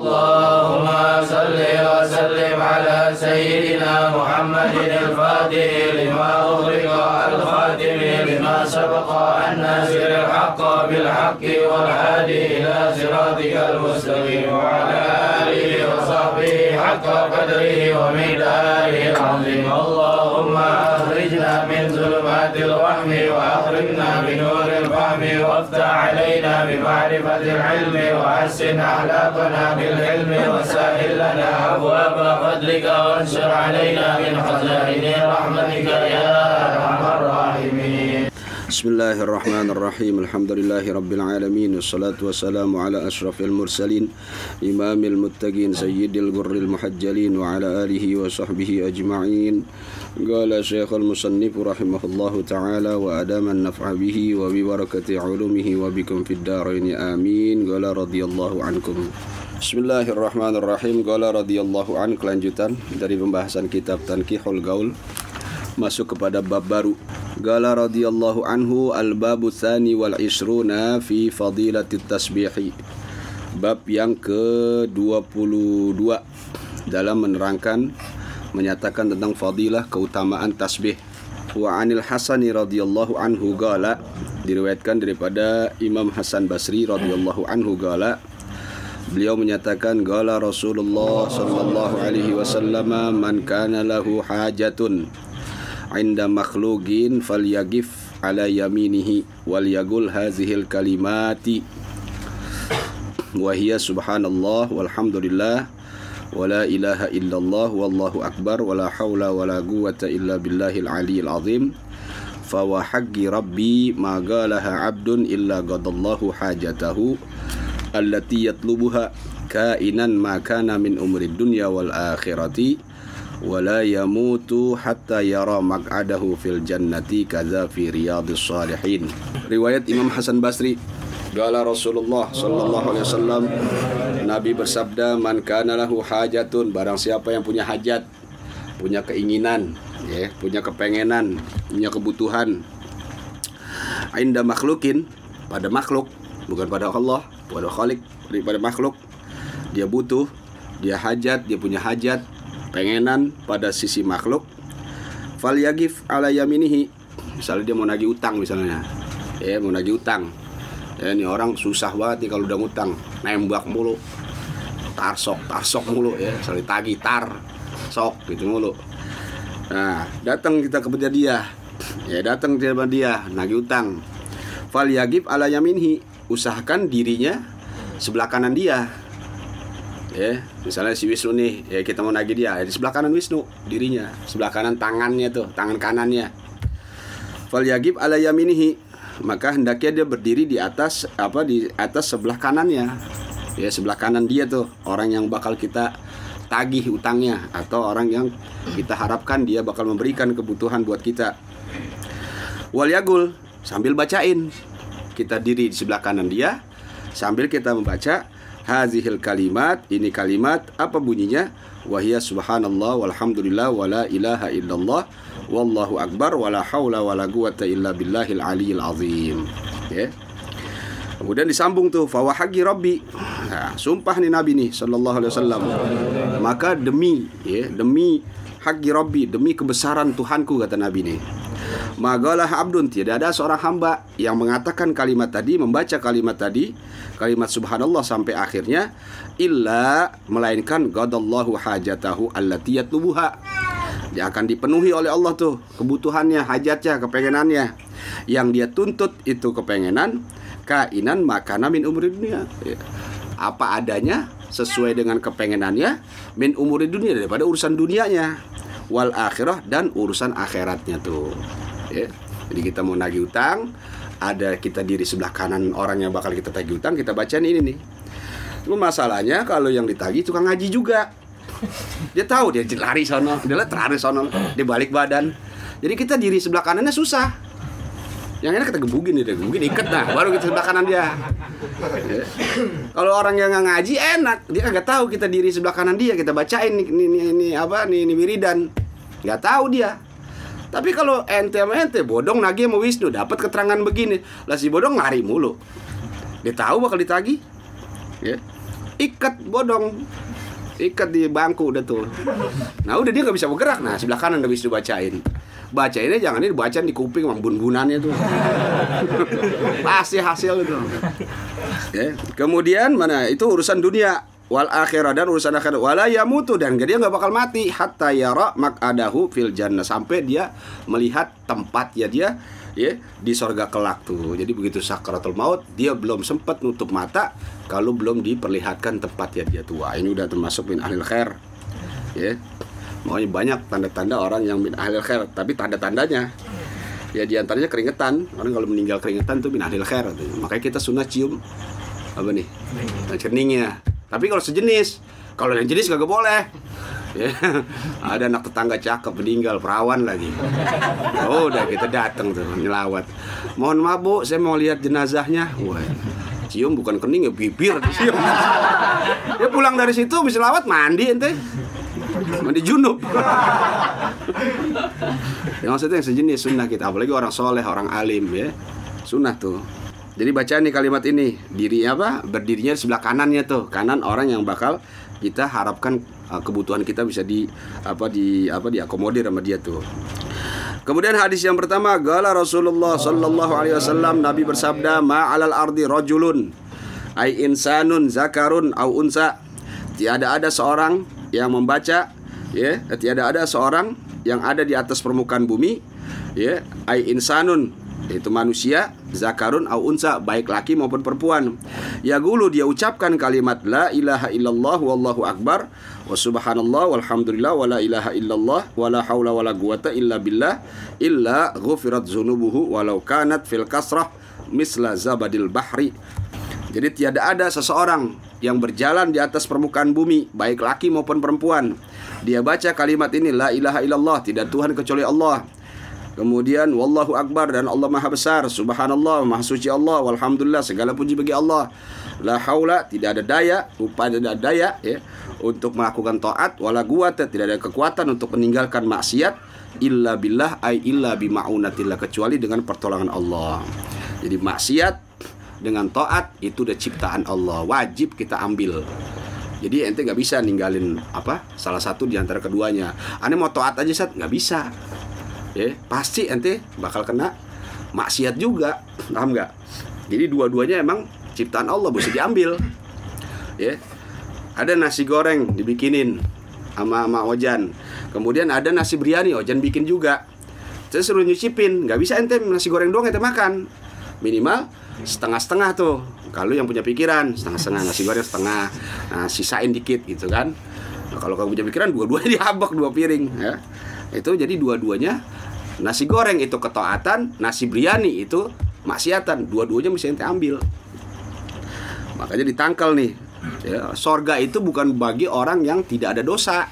اللهم صل وسلم على سيدنا محمد الفاتح لما أغلق الخاتم لما سبق الناصر الحق بالحق والهادي إلى صراطك المستقيم وعلى آله وصحبه حق قدره ومقداره العظيم. اللهم أخرجنا من ظلمات الوهم وأخرجنا بنور الفهم وافتح علينا بمعرفة العلم وحسن أخلاقنا بالعلم وسهل لنا أبواب فضلك وانشر علينا من خزائن رحمتك يا أرحم الراحمين. Bismillahirrahmanirrahim. Alhamdulillahirabbil alamin. Wassalatu wassalamu ala asyrafil mursalin imamil muttaqin sayyidil ghurril muhajjalin wa ala alihi wa sahbihi ajma'in. Qala Syekhul Musannif rahimahullahu ta'ala wa adaman naf'a bihi wa bi barakati ulumihi wa bikum fid dharain amin. Qala radhiyallahu ankum. Bismillahirrahmanirrahim. Qala radhiyallahu an. Kelanjutan dari pembahasan kitab Tanqihul Gaul, masuk kepada bab baru. Qala radhiyallahu anhu al-babu tsani wal isruna fi fadilatit tasbihi. Bab yang ke-22 dalam menyatakan tentang fadilah keutamaan tasbih. Wa anil Hasani radhiyallahu anhu qala, diriwayatkan daripada Imam Hasan Basri radhiyallahu anhu qala, beliau menyatakan qala Rasulullah sallallahu alaihi wasallam man kana lahu hajatun inda makhluqin falyagif ala yaminihi wal yaqul hazihil kalimati wa hiya subhanallah walhamdulillah wala ilaha illallah wallahu akbar wala haula wala quwwata illa billahil aliyil azim fa wa haqqi rabbi ma qalaha abdun illa qadallahu hajatahu allati yatlubuha kainan ma kana min umrid dunya wal akhirati wala yamutu hatta yara maq'adahu fil jannati kadza fi riyadhis shalihin. Riwayat Imam Hasan Basri, qala Rasulullah sallallahu alaihi wasallam, Nabi bersabda, man kana lahu hajatun, barang siapa yang punya hajat, punya keinginan, punya kepengenan, punya kebutuhan, inda makhlukin, pada makhluk, bukan pada Allah, pada Khalik, pada makhluk, dia butuh, dia hajat, dia punya hajat, pengenan pada sisi makhluk, fal yagif ala yaminihi, misalnya dia mau nagih utang misalnya, mau nagih utang, ini orang susah banget nih kalau udah ngutang, nembak mulu, tarsok mulu, misalnya tagih sok gitu mulu. Nah, datang kita kepada dia, datang kepada dia nagih utang, fal yagif ala yaminihi, usahakan dirinya sebelah kanan dia. Misalnya si Wisnu nih, kita mau nagih dia, di sebelah kanan Wisnu dirinya, sebelah kanan tangannya tuh, tangan kanannya. Fal yagib ala yaminihi, maka hendaknya dia berdiri di atas sebelah kanannya. Sebelah kanan dia tuh orang yang bakal kita tagih utangnya, atau orang yang kita harapkan dia bakal memberikan kebutuhan buat kita. Wal yagul, sambil bacain. Kita diri di sebelah kanan dia sambil kita membaca hazihil kalimat, ini kalimat, apa bunyinya? Wahia subhanallah walhamdulillah wala ilaha illallah wallahu akbar wala haula wala quwwata illa billahil aliyil azim. Kemudian disambung tuh, fa wa haqqi rabbi. Nah, sumpah nih Nabi nih sallallahu alaihi wasallam. Maka demi haqqi rabbi, demi kebesaran Tuhanku, kata Nabi nih. Magalah abdun, tidak ada seorang hamba yang mengatakan kalimat tadi, membaca kalimat tadi, kalimat subhanallah sampai akhirnya, illa, melainkan qadallahu hajatahu allati yatlubuha, dia akan dipenuhi oleh Allah tuh kebutuhannya, hajatnya, kepengenannya yang dia tuntut itu kepengenan, kainan makana min umri dunia, apa adanya sesuai dengan kepengenannya, min umuri dunia, daripada urusan dunianya, wal akhirah, dan urusan akhiratnya tuh. Jadi kita mau nagih utang, ada kita diri sebelah kanan orang yang bakal kita tagih utang, kita bacain ini nih. Cuma masalahnya kalau yang ditagih tukang ngaji juga, dia tahu, dia lari sono, dia lari sono, dia balik badan. Jadi kita diri sebelah kanannya susah. Yang enak kita gebugin ikat, nah baru kita sebelah kanan dia. Kalau orang yang nggak ngaji enak, dia nggak tahu kita diri sebelah kanan dia, kita bacain ini wiridan, nggak tahu dia. Tapi kalau ente bodong nagih sama Wisnu, dapat keterangan begini, lah si bodong lari mulu, dia tahu bakal ditagih. ikat bodong, ikat di bangku udah tuh. Nah udah dia nggak bisa bergerak. Nah sebelah kanan udah bisa dibacain. Bacainnya jangan ini dibacain di kuping sama bun-bunannya tuh. Pasti hasil itu. Ya. Kemudian mana itu urusan dunia. Wal akhirah, dan urusan akhirat. Wala yamutu, dan dia nggak bakal mati hatta yara maq'adahu fil jannah, sampai dia melihat tempatnya dia ya di surga kelak tuh. Jadi begitu sakaratul maut dia belum sempat nutup mata kalau belum diperlihatkan tempatnya dia tuh. Wah, ini udah termasuk min ahlil khair. Ya. Makanya banyak tanda-tanda orang yang min ahlil khair, tapi tanda-tandanya ya diantaranya keringetan. Orang kalau meninggal keringetan itu min ahlil khair tuh. Makanya kita sunah cium apa nih? Keningnya. Tapi kalau sejenis, kalau yang jenis kagak boleh. Ya, ada anak tetangga cakep meninggal, perawan lagi. Oh, udah kita datang tuh nyelawat. Mohon maaf Bu, saya mau lihat jenazahnya. Wah, cium bukan kening ya, bibir dicium. Dia pulang dari situ bisa lawat mandi ente. Mandi junub. Yang maksudnya yang sejenis sunnah kita, apalagi orang soleh, orang alim ya. Sunnah tuh. Jadi baca nih kalimat ini, diri apa? Berdirinya di sebelah kanannya tuh, kanan orang yang bakal kita harapkan kebutuhan kita bisa diakomodir sama dia tuh. Kemudian hadis yang pertama, qala Rasulullah sallallahu alaihi wasallam, Nabi bersabda, ma'alal ardi rajulun ai insanun zakarun au unsa. Tiada ada seorang yang membaca ya, tiada ada seorang yang ada di atas permukaan bumi ya, ai insanun itu manusia, zakarun au unsa, baik laki maupun perempuan. Ya gulu, dia ucapkan kalimat la ilaha illallah wallahu akbar wa subhanallah walhamdulillah wa la ilaha illallah wa la haula wa la quwata illa billah illa ghufirat dzunubuhu walau kanat fil kasrah misla zabadil bahri. Jadi tiada ada seseorang yang berjalan di atas permukaan bumi, baik laki maupun perempuan, dia baca kalimat ini, la ilaha illallah, tidak Tuhan kecuali Allah. Kemudian wallahu akbar, dan Allah maha besar, subhanallah, maha suci Allah, walhamdulillah, segala puji bagi Allah. La haula, tidak ada daya, upaya tidak ada daya ya untuk melakukan taat, wala quwata, tidak ada kekuatan untuk meninggalkan maksiat, illa billah ay illa bima'unatillah, kecuali dengan pertolongan Allah. Jadi maksiat dengan taat itu udah ciptaan Allah, wajib kita ambil. Jadi ente nggak bisa ninggalin salah satu di antara keduanya. Ane mau taat aja Sat, nggak bisa. Ya, pasti ente bakal kena maksiat juga, paham nggak? Jadi dua-duanya emang ciptaan Allah, bisa diambil. Ya, ada nasi goreng dibikinin sama Ojan, kemudian ada nasi biryani Ojan bikin juga. Saya suruh nyicipin, nggak bisa ente nasi goreng doang ente makan, minimal setengah-setengah tuh. Kalau yang punya pikiran setengah-setengah, nasi goreng setengah, nah sisain dikit gitu kan. Nah, kalau kamu punya pikiran dua-duanya dihabak 2 piring ya. Itu jadi dua-duanya, nasi goreng itu ketaatan, nasi biryani itu maksiatan, dua-duanya mesti ente ambil. Makanya ditangkal nih ya, sorga itu bukan bagi orang yang tidak ada dosa,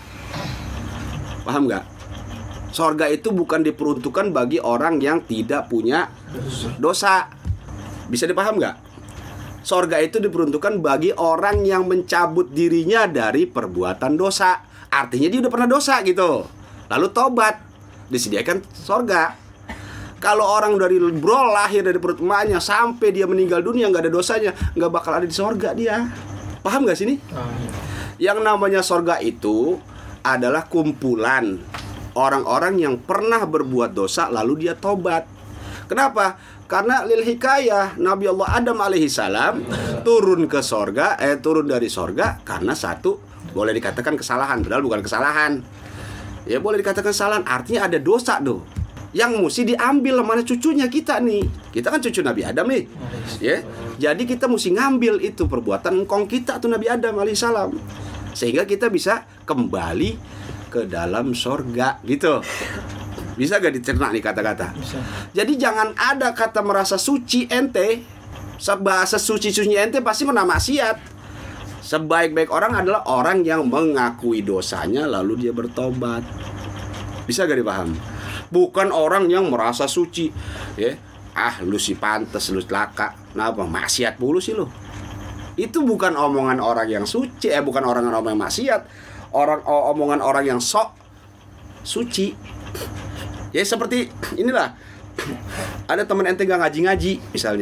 paham nggak? Sorga itu bukan diperuntukkan bagi orang yang tidak punya dosa. Bisa dipaham nggak? Sorga itu diperuntukkan bagi orang yang mencabut dirinya dari perbuatan dosa. Artinya dia udah pernah dosa gitu, lalu tobat, disediakan sorga. Kalau orang dari lahir dari perut emaknya sampai dia meninggal dunia nggak ada dosanya, nggak bakal ada di sorga dia. Paham nggak sini? Yang namanya sorga itu adalah kumpulan orang-orang yang pernah berbuat dosa lalu dia tobat. Kenapa? Karena lil hikayah Nabi Allah Adam alaihissalam turun ke sorga, turun dari sorga karena satu, boleh dikatakan kesalahan, padahal bukan kesalahan. Ya boleh dikatakan kesalahan, artinya ada dosa tuh yang mesti diambil sama cucunya kita nih. Kita kan cucu Nabi Adam nih. Ya. Jadi kita mesti ngambil itu perbuatan engkong kita tuh Nabi Adam alaihissalam, sehingga kita bisa kembali ke dalam sorga gitu. Bisa gak dicerna nih kata-kata? Bisa. Jadi jangan ada kata merasa suci ente. Bahasa suci-sucinya ente pasti kena maksiat. Sebaik-baik orang adalah orang yang mengakui dosanya lalu dia bertobat. Bisa gak dipaham? Bukan orang yang merasa suci ya. Lu sih pantes, lu celaka. Kenapa? Maksiat mulu sih lu. Itu bukan omongan orang yang suci, bukan orang yang maksiat. Omongan orang yang sok suci. Ya seperti inilah, ada teman ente gak ngaji-ngaji misalnya,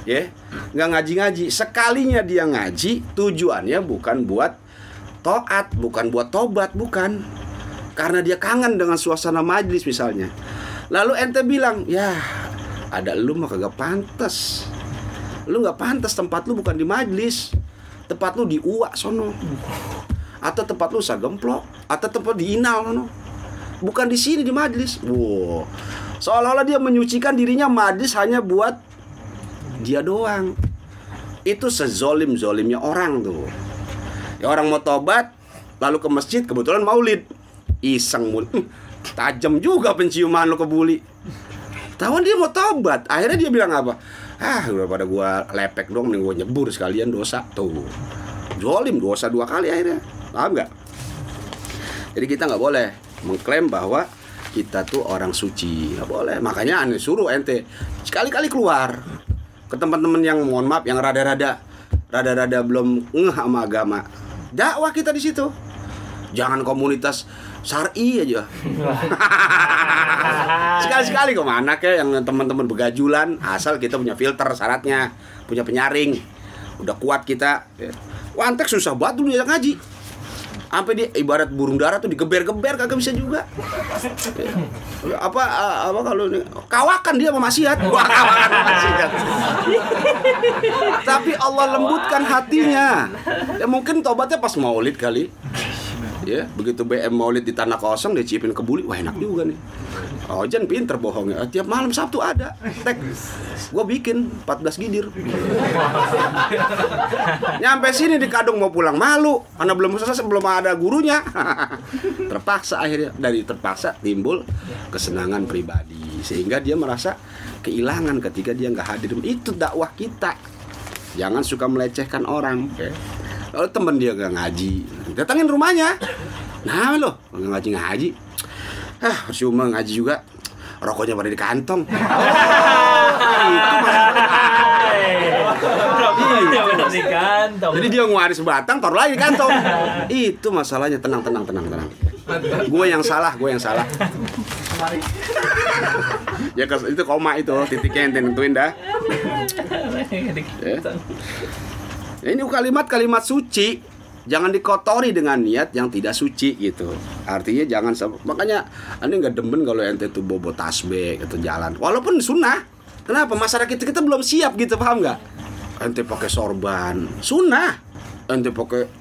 ya, nggak ngaji-ngaji. Sekalinya dia ngaji, tujuannya bukan buat taat, bukan buat tobat, bukan. Karena dia kangen dengan suasana majlis misalnya. Lalu ente bilang, ya ada lu mah kagak pantas. Lu nggak pantas, tempat lu bukan di majlis, tempat lu di uak sono, atau tempat lu sagemplok, atau tempat di inal sono, bukan di sini di majlis. Wow, seolah-olah dia menyucikan dirinya majlis hanya buat dia doang. Itu sezolim-zolimnya orang tuh. Ya, orang mau tobat lalu ke masjid, kebetulan maulid, iseng mulu, tajam juga penciuman lo ke buli. Tahuan dia mau tobat, akhirnya dia bilang apa? Udah pada gua lepek dong, nih gua nyebur sekalian dosa. Tuh, zolim, dosa 2 kali akhirnya. Paham nggak? Jadi kita nggak boleh mengklaim bahwa kita tuh orang suci, nggak boleh. Makanya aneh suruh ente sekali-kali keluar ke teman-teman yang mohon maaf yang rada-rada belum ngeh sama agama. Dakwah kita di situ. Jangan komunitas syar'i aja. Sekali-sekali kemana kayak yang teman-teman begajulan, asal kita punya filter syaratnya, punya penyaring, udah kuat kita. Wantek susah banget dulu yang ngaji. Sampai dia ibarat burung dara tuh digeber-geber kagak bisa juga. Apa kalau kawakan dia sama maksiat. Wah, kawakan sama maksiat. Tapi Allah lembutkan hatinya. Ya mungkin tobatnya pas maulid kali. Ya, begitu BM maulid di tanah kosong dia cipin ke buli, wah enak juga nih. Ojan pinter bohongnya. Tiap malam Sabtu ada. Tek. Gua bikin 14 gidir. Nyampe sini di kadung mau pulang malu karena belum selesai, belum ada gurunya. Terpaksa akhirnya, dari terpaksa timbul kesenangan pribadi sehingga dia merasa kehilangan ketika dia nggak hadir. Itu dakwah kita. Jangan suka melecehkan orang, okay? Kalau temen dia gak ngaji, datangin rumahnya. Nah lo, gak ngaji. Percuma ngaji juga. Rokoknya pada di kantong. Itu di kantong. Jadi dia ngewaris batang, taruh lagi di kantong. Itu masalahnya. Tenang. Gue yang salah. Ya itu koma itu, titiknya yang tentuin dah. Ya, ini kalimat-kalimat suci, jangan dikotori dengan niat yang tidak suci gitu. Artinya jangan, makanya ane nggak demen kalau ente tuh bobo tasbih gitu jalan. Walaupun sunnah, kenapa masyarakat kita belum siap gitu, paham nggak? Ente pakai sorban, sunnah. Ente pakai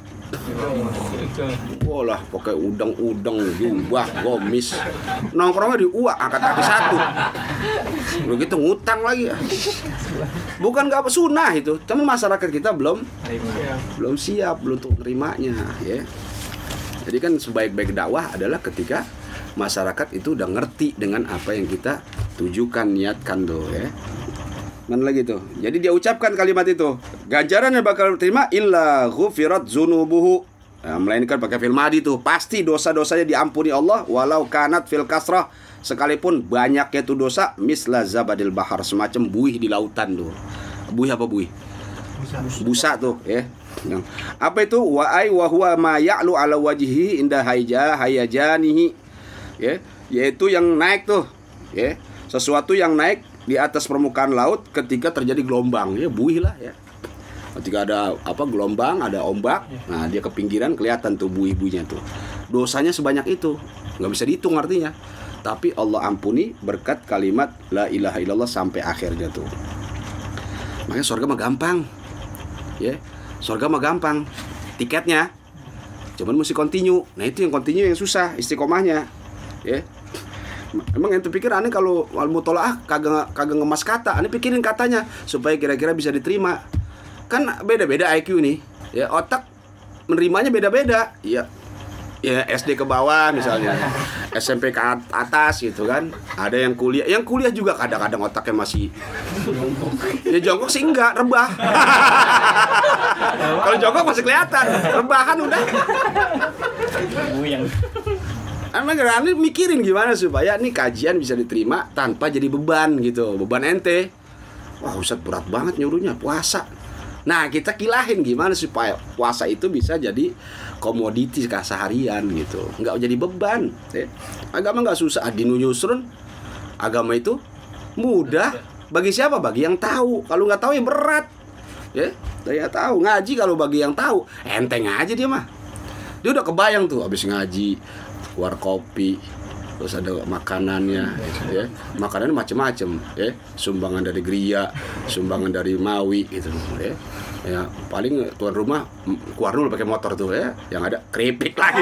lah pakai udang-udang jubah gomis, nongkrongnya di uak angkat kaki 1 begitu ngutang lagi ya. Bukan nggak sunnah itu, cuma masyarakat kita belum siap untuk nerimanya ya. Jadi kan sebaik-baik dakwah adalah ketika masyarakat itu udah ngerti dengan apa yang kita tujukan, niatkan tuh ya. Mana lagi tuh? Jadi dia ucapkan kalimat itu, ganjarannya bakal terima illa ghufirat dzunubuhu. Nah, melainkan pakai fil madi tuh, pasti dosa-dosanya diampuni Allah walau kanat fil kasrah, sekalipun banyaknya itu dosa misla zabadil bahar, semacam buih di lautan tuh. Buih apa buih? Busa tuh ya. Apa itu? Wa ay wa huwa ma ya'lu ala wajhi inda hayajanihi. Ya, yaitu yang naik tuh, ya. Sesuatu yang naik di atas permukaan laut ketika terjadi gelombang, ya buih lah ya. Ketika ada gelombang, ada ombak, nah dia ke pinggiran kelihatan tuh buih-buihnya tuh. Dosanya sebanyak itu, nggak bisa dihitung artinya. Tapi Allah ampuni berkat kalimat la ilaha illallah sampai akhirnya tuh. Makanya surga mah gampang, ya. Surga mah gampang, tiketnya, cuman mesti continue. Nah itu yang continue yang susah, istiqomahnya, ya. Emang ente pikir aneh kalau al-mutolaah kagak ngemas kata, aneh pikirin katanya supaya kira-kira bisa diterima. Kan beda-beda IQ nih, ya otak menerimanya beda-beda. Ya SD ke bawah misalnya, SMP ke atas gitu kan. Ada yang kuliah juga kadang-kadang otaknya masih. Ya jongkok sih enggak, rebah. Kalau jongkok masih kelihatan, rebahan udah. Emang ini mikirin gimana supaya nih kajian bisa diterima tanpa jadi beban gitu, beban ente. Wah Ustadz berat banget nyuruhnya puasa. Nah kita kilahin gimana supaya puasa itu bisa jadi komoditi keseharian gitu, nggak jadi beban. Agama nggak susah, adinu yusrun. Agama itu mudah, Bagi siapa? Bagi yang tahu. Kalau nggak tahu ya berat. Ya, saya tahu. Ngaji kalau bagi yang tahu, enteng aja dia mah. Dia udah kebayang tuh habis ngaji, keluar kopi, terus ada makanannya, ya. Makanannya macam-macam, ya. Sumbangan dari Gria, sumbangan dari Mawi gitu, ya. Ya, paling tuan rumah keluar dulu pakai motor tuh, ya. Yang ada keripik lagi.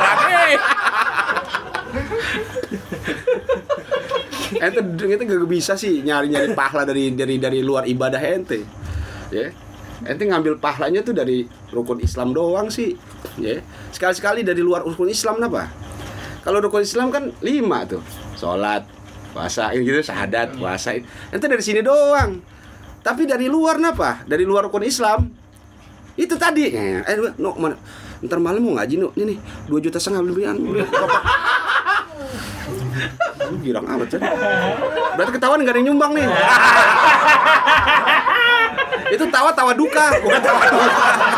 Ente gak bisa sih nyari pahala dari luar ibadah ente, ya. Ente ngambil pahalanya tuh dari rukun Islam doang sih, ya. Sekali-sekali dari luar rukun Islam apa? Kalau rukun Islam kan 5 tuh, sholat, puasa, gitu, syahadat, puasa. Ente dari sini doang. Tapi dari luar apa? Dari luar rukun Islam itu tadi. Mana? Ntar malam mau ngaji ini 2,5 juta lebihan. Girang amat kan? Berarti ketahuan nggak ada yang nyumbang nih. Itu tawa duka, bukan tawa duka.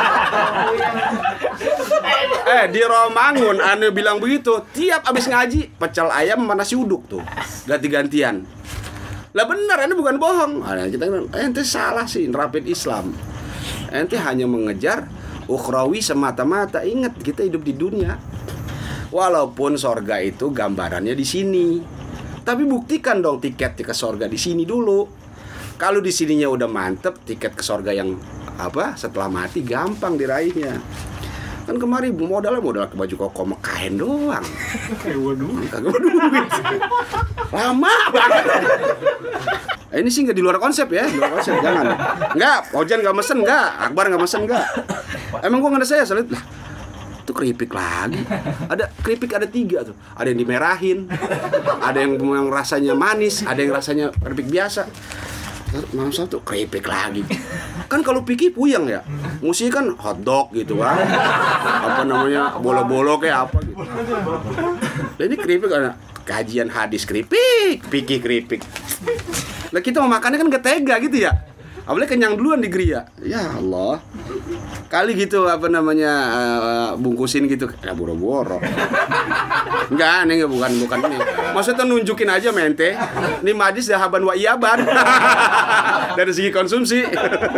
Di Romangun ane bilang begitu, tiap abis ngaji pecel ayam sama nasi uduk tuh, ganti-gantian. Lah bener, ane bukan bohong. Kita ente salah sih nerapin Islam. Ente hanya mengejar ukhrawi semata-mata. Ingat, kita hidup di dunia. Walaupun sorga itu gambarannya di sini, tapi buktikan dong tiket ke sorga di sini dulu. Kalau di sininya udah mantep, tiket ke sorga yang setelah mati gampang diraihnya. Kan kemarin modal ke baju koko sama kain doang. Kagak duit. Lama banget. Ini sih nggak di luar konsep ya, di luar konsep jangan. Enggak, Ojan nggak mesen enggak, Akbar nggak mesen enggak. Emang gua nggak ada saya salit lah. Itu keripik lagi. Ada keripik ada 3 tuh. Ada yang dimerahin, ada yang rasanya manis, ada yang rasanya keripik biasa. Malam satu keripik lagi. Kan kalau pikir puyeng ya. Musiknya kan hotdog gitu kan. Bolo-bolo kayak apa gitu. Dan ini keripik ada kajian hadis keripik, pikir keripik. Lah kita mau makannya kan gak tega gitu ya. Apalagi kenyang duluan di Gria. Ya Allah. Kali gitu bungkusin gitu. Ya boro-boro. Enggak, ini bukan ini. Maksudnya nunjukin aja mente. Ini majlis dahaban wa iyaban. Dari segi konsumsi.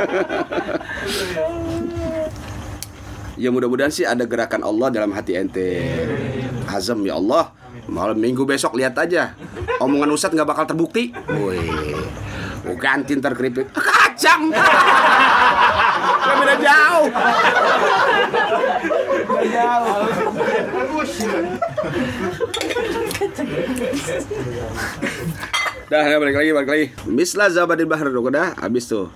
Ya mudah-mudahan sih ada gerakan Allah dalam hati ente. Azam ya Allah. Malam minggu besok lihat aja. Omongan Ustadz gak bakal terbukti. Wih. Ganti ntar keripik kacang. Beda jauh. Balik lagi. Misla zabadil bahr udah habis tuh.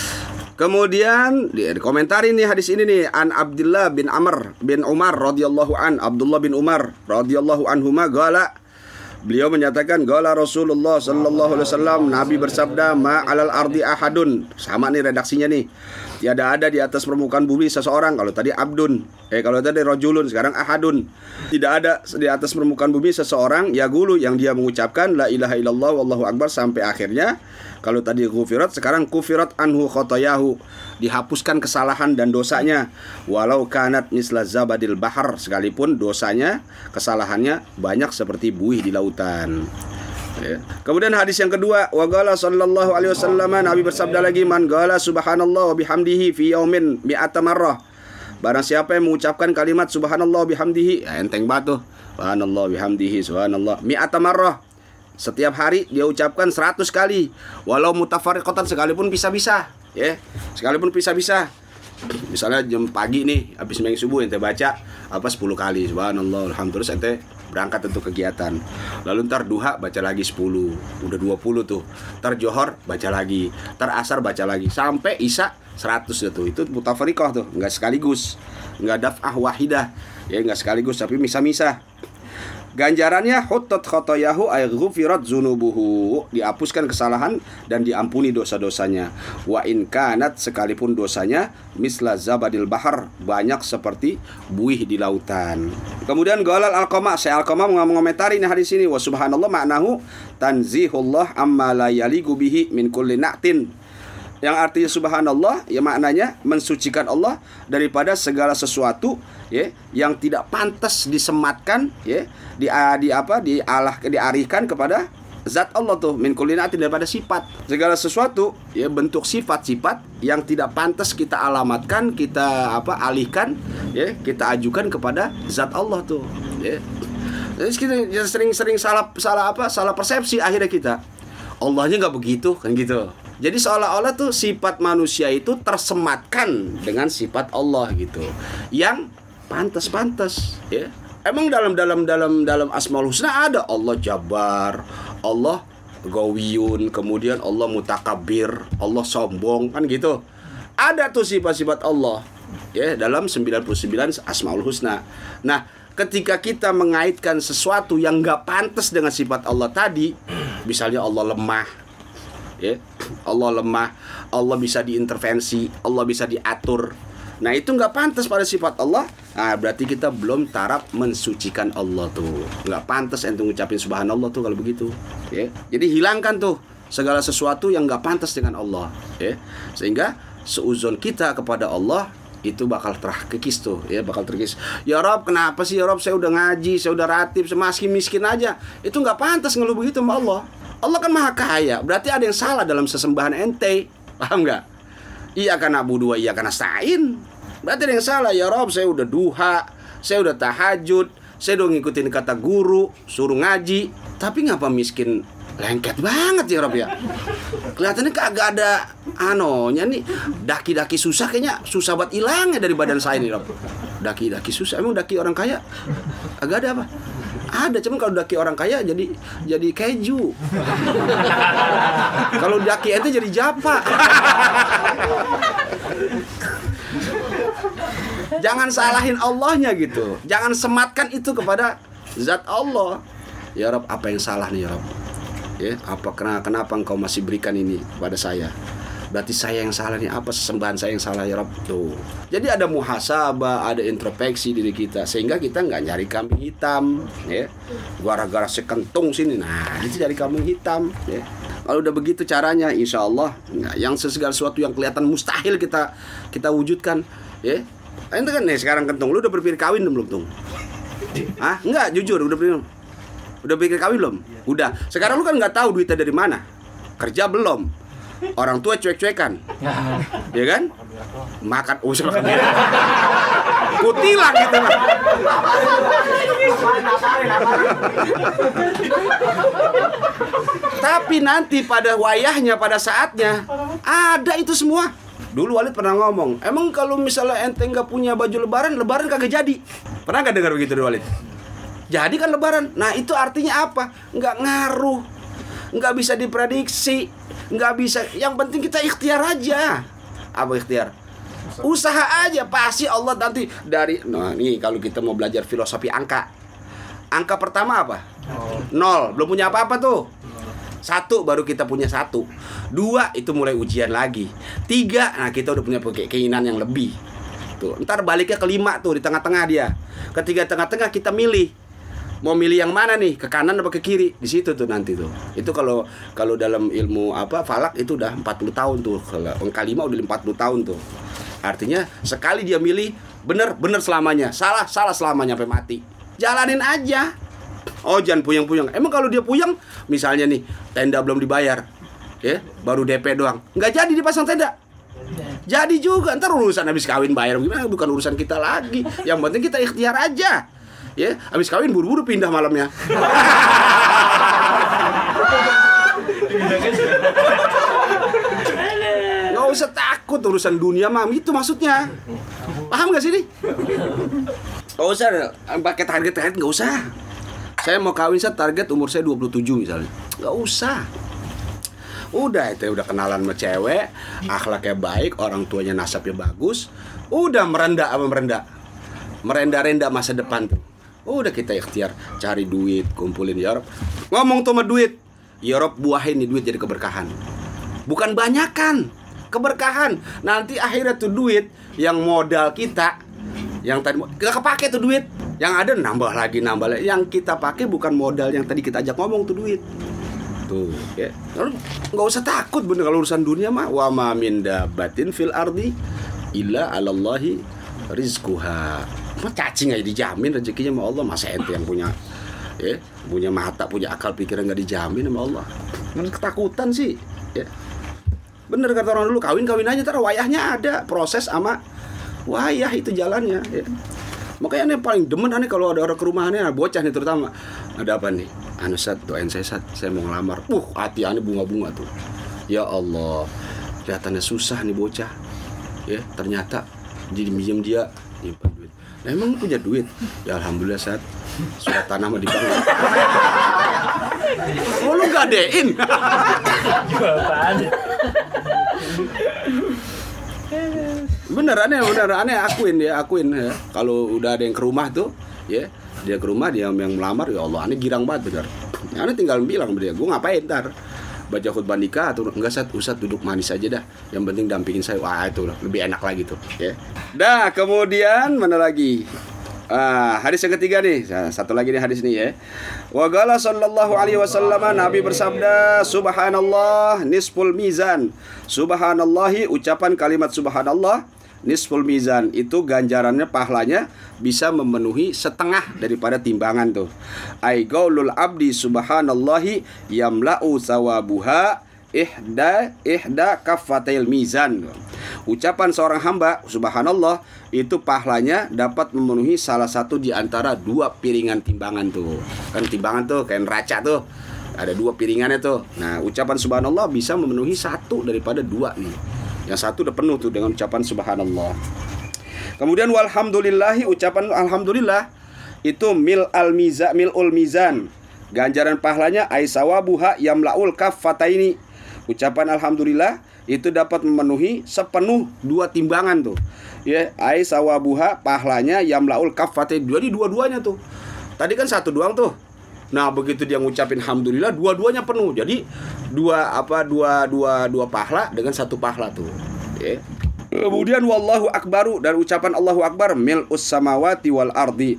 Kemudian dikomentarin nih hadis ini nih, an Abdullah bin Amr bin Umar radhiyallahu an, Abdullah bin Umar radhiyallahu anhuma qala. Beliau menyatakan qala Rasulullah sallallahu alaihi wasallam, Nabi bersabda, ma 'alal ardi ahadun. Sama nih redaksinya nih. Tiada ada di atas permukaan bumi seseorang. Kalau tadi abdun, kalau tadi rajulun, sekarang ahadun. Tidak ada di atas permukaan bumi seseorang yaqulu yang dia mengucapkan la ilaha illallah wallahu akbar sampai akhirnya. Kalau tadi ghufirat, sekarang kufirat anhu khotoyahu, dihapuskan kesalahan dan dosanya. Walau kanat misla zabadil bahar, sekalipun dosanya, kesalahannya banyak seperti buih di lautan. Ya. Kemudian hadis yang kedua, wa qala sallallahu alaihi wasallam, Nabi bersabda lagi, man qala subhanallah wa bihamdihi fi yaumin mi'ata marrah. Barang siapa yang mengucapkan kalimat subhanallah bihamdihi, enteng banget tuh. Subhanallah bihamdihi, subhanallah mi'ata marrah. Setiap hari dia ucapkan 100 kali. Walau mutafariqatan, sekalipun pisah-pisah, ya. Sekalipun pisah-pisah. Misalnya jam pagi nih, habis sembahyang subuh ente baca 10 kali subhanallah alhamdulillah, ente berangkat untuk kegiatan. Lalu ntar duha baca lagi 10, udah 20 tuh. Ntar johor baca lagi, ntar asar baca lagi, sampai isya 100 tuh. Itu mutafariqah tuh, enggak sekaligus. Enggak daf'ah wahidah. Ya enggak sekaligus tapi misah-misah. Ganjarannya huttat khotoyahu ay ghufirat zunubuhu, dihapuskan kesalahan dan diampuni dosa-dosanya. Wa in kanat, sekalipun dosanya misla zabadil bahar, banyak seperti buih di lautan. Kemudian Ghalal Alqamah, saya Alqamah mengomentari ini hadis ini, wa subhanallah maknahu tanzihullah amma la yaligu bihi min kulli na'tin. Yang artinya subhanallah, ya maknanya mensucikan Allah daripada segala sesuatu, ya, yang tidak pantas disematkan, ya, dialihkan kepada zat Allah tuh, min kulli na'atin, daripada sifat. Segala sesuatu ya bentuk sifat-sifat yang tidak pantas kita alamatkan, kita alihkan ya, kita ajukan kepada zat Allah tuh ya. Jadi kita sering salah persepsi akhirnya kita. Allahnya enggak begitu kan gitu. Jadi seolah-olah tuh sifat manusia itu tersematkan dengan sifat Allah gitu, yang pantas-pantas ya. Emang dalam Asmaul Husna ada Allah Jabbar, Allah Gawiyun, kemudian Allah Mutakabbir, Allah sombong kan gitu. Ada tuh sifat-sifat Allah ya dalam 99 Asmaul Husna. Nah, ketika kita mengaitkan sesuatu yang enggak pantas dengan sifat Allah tadi, misalnya Allah lemah ya, Allah lemah, Allah bisa diintervensi, Allah bisa diatur. Nah itu nggak pantas pada sifat Allah. Nah berarti kita belum taraf mensucikan Allah tuh. Nggak pantas ente ngucapin subhanallah tuh kalau begitu ya. Jadi hilangkan tuh segala sesuatu yang nggak pantas dengan Allah ya. Sehingga seuzon kita kepada Allah itu bakal terkikis tuh ya, bakal terkikis. Ya Rob, kenapa sih ya Rob, saya udah ngaji, saya udah ratib, saya miskin aja. Itu nggak pantas ngeluh begitu sama Allah. Allah kan maha kaya, berarti ada yang salah dalam sesembahan ente. Paham nggak? Iya karena na'budu wa iya karena nasta'in. Berarti ada yang salah. Ya Rob, saya udah duha, saya udah tahajud, saya udah ngikutin kata guru, suruh ngaji, tapi ngapa miskin lengket banget ya Rob ya? Kelihatannya kagak ada anonya nih. Daki-daki susah, kayaknya susah banget hilangnya dari badan saya nih Rob. Daki-daki susah. Emang daki orang kaya agak ada apa? Ada, cuman kalau daki orang kaya jadi keju. Kalau daki itu jadi japa. Jangan salahin Allahnya gitu. Jangan sematkan itu kepada zat Allah. Ya Rob, apa yang salah nih ya Rob? Ya, kenapa engkau masih berikan ini kepada saya? Berarti saya yang salah nih. Apa sesembahan saya yang salah ya Rob? Tuh. Jadi ada muhasabah, ada introspeksi diri kita, sehingga kita nggak nyari kambing hitam ya. Gara-gara sekentung sini, nah itu dari kambing hitam ya. Kalau udah begitu caranya, insya Allah yang segala sesuatu yang kelihatan mustahil kita wujudkan ya. Ente kan nih sekarang kentung, lu udah berpikir kawin belum Tung? Ah, enggak, jujur udah pikir kawin belum? Udah. Sekarang lu kan nggak tahu duitnya dari mana. Kerja belum? Orang tua cuek-cuekan. Ya kan? Makan makan. Kutilang gitu mah. Tapi nanti pada wayahnya, pada saatnya ada itu semua. Dulu Walid pernah ngomong, emang kalau misalnya ente nggak punya baju lebaran kagak jadi. Pernah nggak dengar begitu dari Walid? Jadi kan lebaran. Nah itu artinya apa? Nggak ngaruh, nggak bisa diprediksi, nggak bisa. Yang penting kita ikhtiar aja. Apa ikhtiar? Usaha aja. Pasti Allah nanti dari. Nah nih kalau kita mau belajar filosofi angka pertama apa? 0. Belum punya apa-apa tuh. 1 baru kita punya 1. 2 itu mulai ujian lagi. 3 nah kita udah punya keinginan yang lebih. Tuh, ntar baliknya ke 5 tuh di tengah-tengah dia. Ketiga tengah-tengah kita milih. Mau milih yang mana nih? Ke kanan apa ke kiri? Di situ tuh nanti tuh. Itu kalau dalam ilmu falak itu udah 40 tahun tuh. Kalau angka 5 udah 40 tahun tuh. Artinya sekali dia milih bener selamanya. Salah selamanya sampai mati. Jalanin aja. Oh jangan puyeng-puyeng. Emang kalau dia puyeng, misalnya nih tenda belum dibayar, ya baru DP doang, nggak jadi dipasang tenda. Jadi juga ntar urusan habis kawin bayar gimana, bukan urusan kita lagi. Yang penting kita ikhtiar aja. Ya habis kawin buru-buru pindah malamnya. Nggak usah takut urusan dunia mah, itu maksudnya. Paham nggak sih nih? Nggak usah pakai target nggak usah. Saya mau kawin, saya target umur saya 27 misalnya. Gak usah. Udah itu udah kenalan sama cewek, akhlaknya baik, orang tuanya nasabnya bagus. Udah merenda masa depan tuh. Udah kita ikhtiar cari duit, kumpulin ya Rob. Ngomong tuh sama duit. Ya Rob, buahin nih duit jadi keberkahan. Bukan banyakan, keberkahan. Nanti akhirnya tuh duit yang modal kita, yang tadi kita kepake tuh duit, yang ada nambah lagi. Yang kita pakai bukan modal yang tadi kita ajak ngomong tuh duit. Tuh, ya. Nggak usah takut bener kalau urusan dunia mah. Wa ma min dabbatin fil ardi illa 'alallahi rizquha. Cacing aja dijamin rezekinya sama Allah. Masa ente yang punya Ya, punya mata, punya akal, pikiran nggak dijamin sama Allah. Ketakutan sih. Ya. Bener kata orang dulu, kawin aja, ntar wayahnya ada, proses sama wayah itu jalannya. Ya. Makanya aneh paling demen aneh kalau ada orang ke rumahnya, bocah nih terutama. Ada apa nih? Anu Sat, doain saya mau ngelamar. Hati aneh bunga-bunga tuh. Ya Allah, kelihatannya susah nih bocah. Ya, ternyata minjem dia nyimpan duit. Nah, emang punya duit? Ya alhamdulillah Sat. Surat tanah mah di bank. Oh lu gadein. Apaan? Bener aneh akuin ya. Kalau udah ada yang ke rumah tuh, ya dia ke rumah dia yang melamar, ya Allah aneh girang banget bener. Aneh tinggal bilang sama dia, gue ngapain ntar baca khutbah nikah atau enggak Ustaz duduk manis aja dah. Yang penting dampingin saya. Wah itu lebih enak lagi tuh. Ya. Dah kemudian mana lagi? Hadis yang ketiga nih, satu lagi nih hadis nih ya. Wa qala sallallahu alaihi wasallam, Nabi bersabda, subhanallah nisful mizan. Subhanallahi, ucapan kalimat subhanallah nisful mizan, itu ganjarannya pahalanya bisa memenuhi setengah daripada timbangan tuh. Ai qaulul abdi subhanallahi yamla'u sawabuha ihda kaffatil mizan. Ucapan seorang hamba subhanallah itu pahalanya dapat memenuhi salah satu di antara dua piringan timbangan tuh. Kan timbangan tuh kayak neraca tuh, ada dua piringannya tuh. Nah ucapan subhanallah bisa memenuhi satu daripada dua nih. Yang satu udah penuh tuh dengan ucapan subhanallah. Kemudian walhamdulillahi, ucapan alhamdulillah itu mil'ul mizan. Ganjaran pahalanya aisawabuha yamlaul kaffataini. Ucapan alhamdulillah itu dapat memenuhi sepenuh dua timbangan tuh. Ya, aisawabuha pahalanya yamlaul kaffataini. Jadi dua-duanya tuh. Tadi kan satu doang tuh. Nah, begitu dia ngucapin alhamdulillah, dua-duanya penuh. Jadi dua pahala dengan satu pahala tuh. Ya. Kemudian wallahu akbaru, dan ucapan Allahu akbar mil'us samawati wal ardi.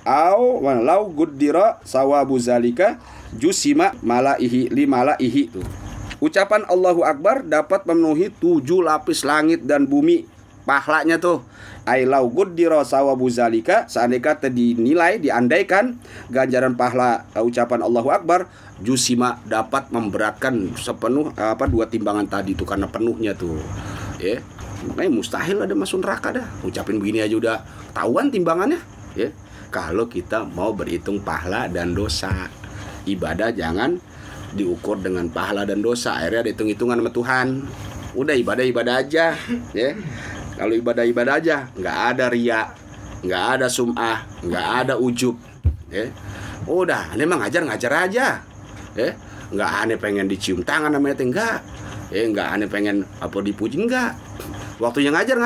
Au walau guddira sawabu zalika jusima malaihi limalaihi tuh. Ucapan Allahu akbar dapat memenuhi 7 lapis langit dan bumi pahalanya tuh. Ailau guddira sawabu zalika, seandainya dinilai, diandaikan ganjaran pahala ucapan Allahu akbar jusima dapat memberatkan sepenuh dua timbangan tadi tuh, karena penuhnya tuh. Ya. Makanya mustahil ada masuk neraka dah. Ucapin begini aja udah tahuan timbangannya, ya. Kalau kita mau berhitung pahala dan dosa. Ibadah jangan diukur dengan pahala dan dosa. Akhirnya ada hitung-hitungan sama Tuhan. Udah ibadah aja, ya. Kalau ibadah aja, nggak ada riya, nggak ada sum'ah, nggak ada ujub, ya. Udah, aneh mah ngajar aja, ya. Nggak aneh pengen dicium tangan namanya, enggak. Nggak aneh pengen dipuji, enggak. Waktunya ngajar.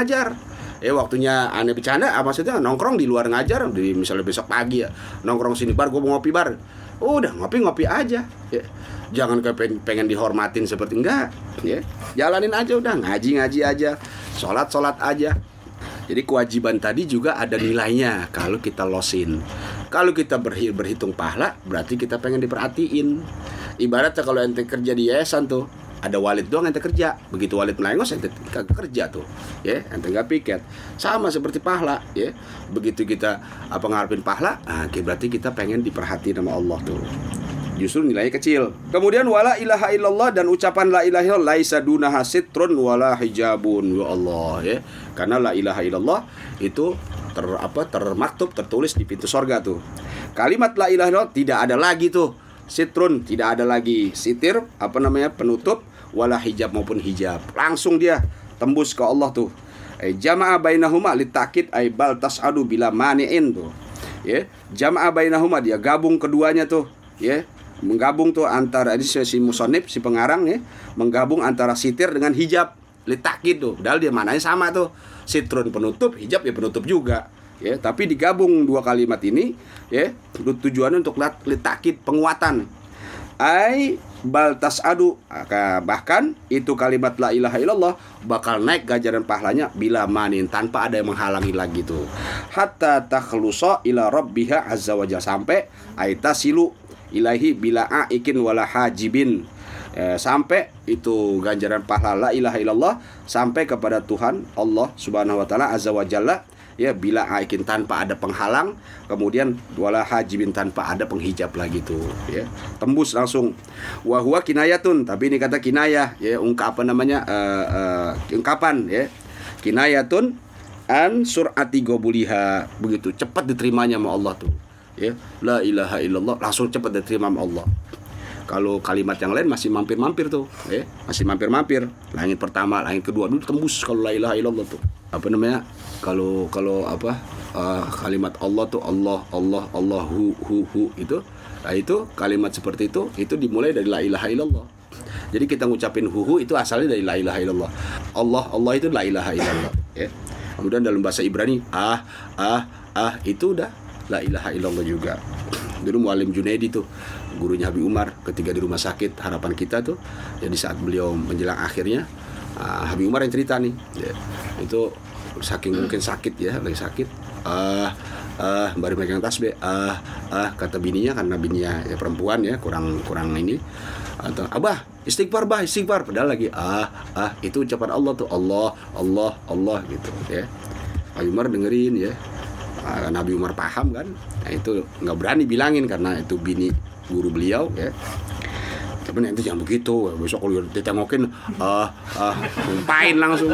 Waktunya aneh bercanda, maksudnya nongkrong di luar ngajar, misalnya besok pagi ya, nongkrong sini bar, gue mau ngopi bar. Udah ngopi aja, ya. Jangan pengen dihormatin seperti enggak, ya. Jalanin aja udah, ngaji aja, sholat aja. Jadi kewajiban tadi juga ada nilainya kalau kita losin. Kalau kita berhitung pahala, berarti kita pengen diperhatiin. Ibaratnya kalau ente kerja di yayasan tuh, ada walid doang ente kerja. Begitu walid melengos ente kagak kerja tuh, ya, ente nggak piket. Sama seperti pahala, ya. Begitu kita ngarepin pahala, berarti kita pengen diperhatiin sama Allah tuh. Justru nilainya kecil. Kemudian wala ilaha illallah, dan ucapan la ilaha illallah laisa dunaha sitrun wala hijabun. Ya Allah, ya. Karena la ilaha illallah itu termaktub, tertulis di pintu sorga tuh. Kalimat la ilaha illallah tidak ada lagi tuh sitrun, tidak ada lagi sitir, penutup, wala hijab maupun hijab. Langsung dia tembus ke Allah tuh. Jama'a bainahuma litakid ay bal tas'adu bila mani'in tuh. Ya, jama'a bainahuma, dia gabung keduanya tuh, ya. Menggabung tuh antara si musonib, si pengarang, ya, menggabung antara sitir dengan hijab, litakid tuh. Padahal dia mananya sama tuh. Sitrun penutup, hijab ya penutup juga. Ya, tapi digabung dua kalimat ini, ya, tujuannya untuk litakid, penguatan. Ai bal tas'adu, bahkan itu kalimat la ilaha illallah bakal naik ganjaran pahalanya bila manin, tanpa ada yang menghalangi lagi tuh. Hatta takhlusa ila rabbiha azza wa jalla, sampai aitasilu ilahi bila aikin wala hajibin, sampai itu ganjaran pahala la ilaha illallah sampai kepada Tuhan Allah subhanahu wa ta'ala azza wa jalla ya, bila aikin tanpa ada penghalang, kemudian wala hajibin tanpa ada penghijab lagi tuh, ya. Tembus langsung. Wa huwa kinayatun, tapi ini kata kinayah, ya, ungkapan ya. Kinayatun an sur'ati gobuliha, begitu cepat diterimanya sama Allah tuh, ya. La ilaha illallah, langsung cepat diterima sama Allah. Kalau kalimat yang lain masih mampir-mampir tuh, ya, masih mampir-mampir. Langit pertama, langit kedua dulu tembus kalau la ilaha illallah tuh. Apa namanya? Kalau kalimat Allah tuh Allah hu itu. Nah, itu kalimat seperti itu dimulai dari la ilaha illallah. Jadi kita ngucapin hu itu asalnya dari la ilaha illallah. Allah itu la ilaha illallah, ya. Kemudian dalam bahasa Ibrani itu udah la ilaha illallah juga. Dulu Muallim Junaidi tuh, gurunya Habib Umar, ketika di rumah sakit Harapan Kita tuh, jadi saat beliau menjelang akhirnya, Habib Umar yang cerita nih, ya, itu saking mungkin sakit ya, lagi sakit, baru megang tasbih, kata bininya, karena bininya ya perempuan ya, kurang ini, atau Abah istighfar, padahal lagi itu ucapan Allah tuh, Allah gitu ya. Habib Umar dengerin ya. Nabi Umar paham kan, nah itu nggak berani bilangin karena itu bini guru beliau ya. Tapi nanti jangan begitu, besok kalau ditengokin ngumpain langsung.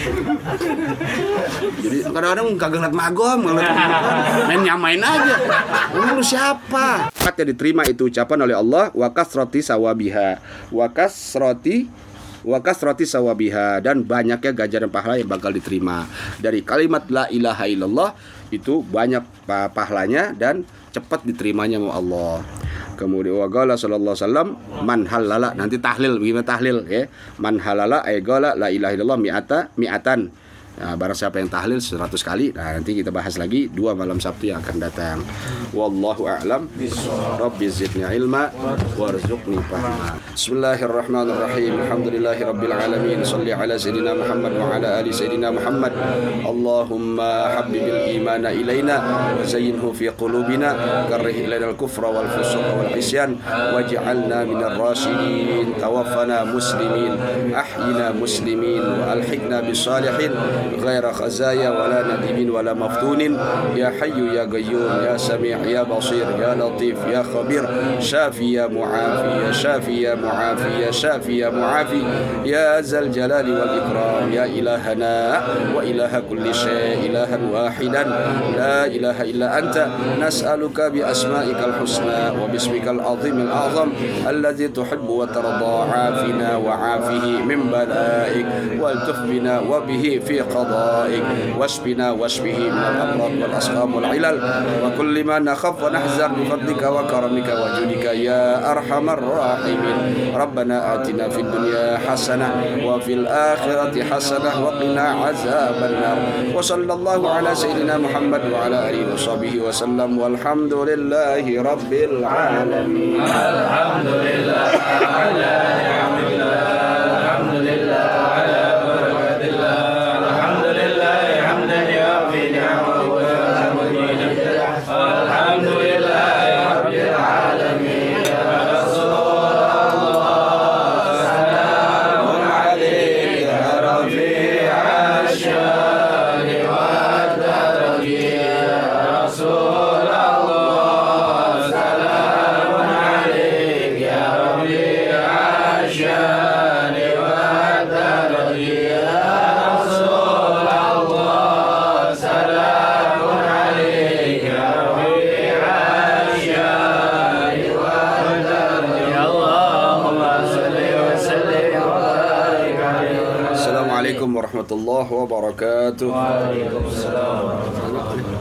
Jadi kadang-kadang kagak ngeliat magom, main nyamain aja. Lu siapa? Yang diterima itu ucapan oleh Allah, wa kasrati sawabiha, dan banyaknya ganjaran pahala yang bakal diterima dari kalimat la ilaha illallah. Itu banyak pahalanya dan cepat diterimanya sama Allah. Kemudian waqala sallallahu alaihi wasallam, man halala, nanti tahlil, bagaimana tahlil ya. Man halala ay qala la ilaha illallah mi'atan. Nah, barang siapa yang tahlil 100 kali. Nah, nanti kita bahas lagi 2 malam Sabtu yang akan datang. Wallahu a'lam. Rabbi zidni ilma warzuqni fahma. Bismillahirrahmanirrahim. Alhamdulillahi rabbil alamin. Shalli ala sayyidina Muhammad wa ala ali sayyidina Muhammad. Allahumma habbibil imana ilaina wa zayyinhu fi qulubina, karrih ilaina al-kufra wal fusuqa wal isyan waj'alna minar rasyidin. Tawaffana muslimin, ahyina muslimin wa alhiqna bis salihin غير خزايا ولا نديم ولا مفتون يا حي يا قيوم يا سميع يا بصير يا لطيف يا خبير شافي يا معافي يا شافي يا معافي يا شافي يا معافي يا ذا الجلال والإكرام يا إلهنا وإله كل شيء إلها واحدا لا إله إلا أنت نسألك بأسمائك الحسنى وباسمك العظيم الأعظم الذي تحب وترضى عافنا وعافه من بلائك والتف بنا وبه في قضائك واشفنا واشفه من الأمراض والأسقام والعلل وكل ما نخاف ونحذر بفضلك وكرمك وجودك يا أرحم الراحمين. ربنا آتنا في الدنيا حسنة وفي الآخرة حسنة وقنا عذاب النار. وصلى الله على سيدنا محمد وعلى آله وصحبه وسلم والحمد لله رب العالمين. الحمد لله على نعم الله. الحمد لله على بركة الله. الحمد لله حمدا يوفي نعمه ويزيد. الحمد لله رب العالمين. يا رسول الله سلام عليك يا رفيع الشان والدرج. يا رسول الله سلام عليك يا رفيع الشان والدرج. يا رسول الله سلام عليك يا رفيع الشان والدرج. اللهم صل وسلم وبارك عليه. Assalamualaikum warahmatullahi wabarakatuh. Waalaikumsalam.